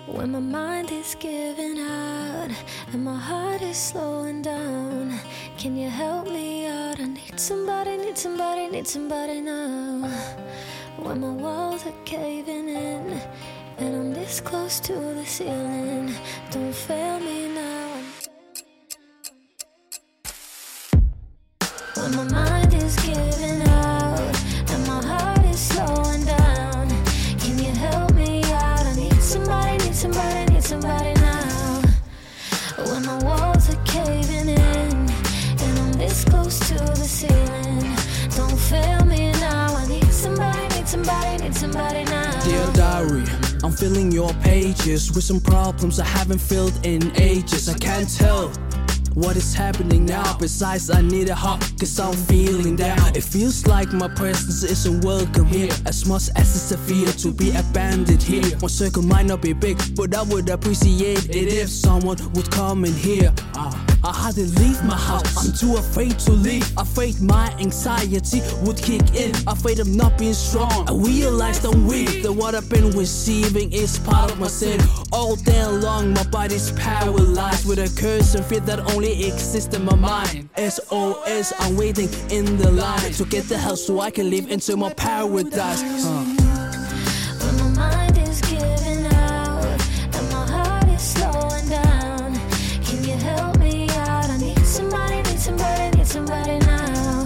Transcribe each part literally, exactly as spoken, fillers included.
When my mind is giving out and my heart is slowing down, can you help me out? I need somebody, need somebody, need somebody now. When my walls are caving in and I'm this close to the ceiling, don't fail me now. When my mind is giving out and my heart is slowing down, can you help me out? I need somebody, need somebody, need somebody now. When my walls are caving in and I'm this close to the ceiling, don't fail me now. I need somebody, need somebody, need somebody now. Dear diary, I'm filling your pages with some problems I haven't filled in ages. I can't tell what is happening now. Besides, I need a hug, cause I'm feeling down. It feels like my presence isn't welcome here, as much as it's a fear to be abandoned here. My circle might not be big, but I would appreciate it if someone would come in here. uh, I hardly leave my house, I'm too afraid to leave. Afraid my anxiety would kick in, afraid of not being strong. I realized I'm weak, that what I've been receiving is part of my sin. All day long my body's paralyzed with a curse and fear that only exists in my mind. S O S, I'm waiting in the line to get the help so I can live into my paradise. uh. When my mind is giving out and my heart is slowing down, can you help me out? I need somebody, need somebody, need somebody now.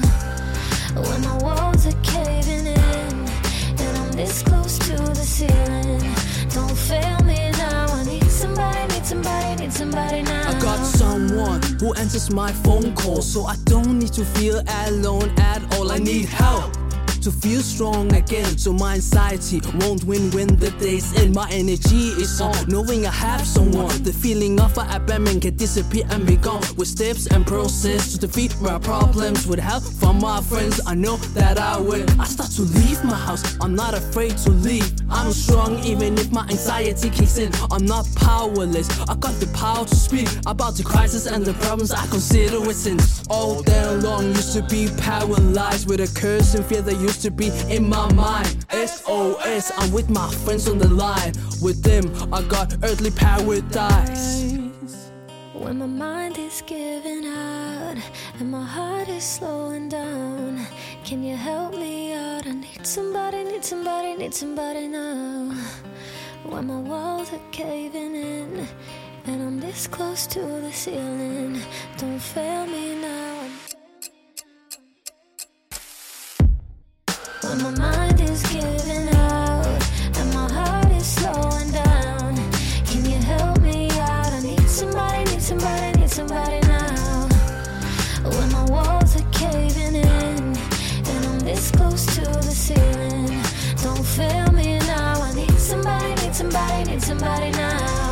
When my walls are caving in and I'm this close to the ceiling, don't fail me now. I need somebody, need somebody, need somebody now. I got someone who answers my phone call, so I don't need to feel alone at all. I need help to feel strong again, so my anxiety won't win when the day's end. My energy is on, knowing I have someone. The feeling of abandonment can disappear and be gone, with steps and process to defeat my problems. With help from my friends, I know that I will. I start to leave my house, I'm not afraid to leave. I'm strong even if my anxiety kicks in. I'm not powerless, I got the power to speak about the crisis and the problems I consider with sins. All day long used to be paralyzed with a curse and fear that used to be in my mind. S O S, I'm with my friends on the line. With them I got earthly paradise. When my mind is giving out and my heart is slowing down, can you help me out? I need somebody, need somebody, need somebody now. When my walls are caving in and I'm this close to the ceiling, don't fail me now. When my mind is giving out and my heart is slowing down, can you help me out? I need somebody, need somebody, need somebody now. When my walls are caving in and I'm this close to the ceiling, don't fail me now. I need somebody, need somebody, need somebody now.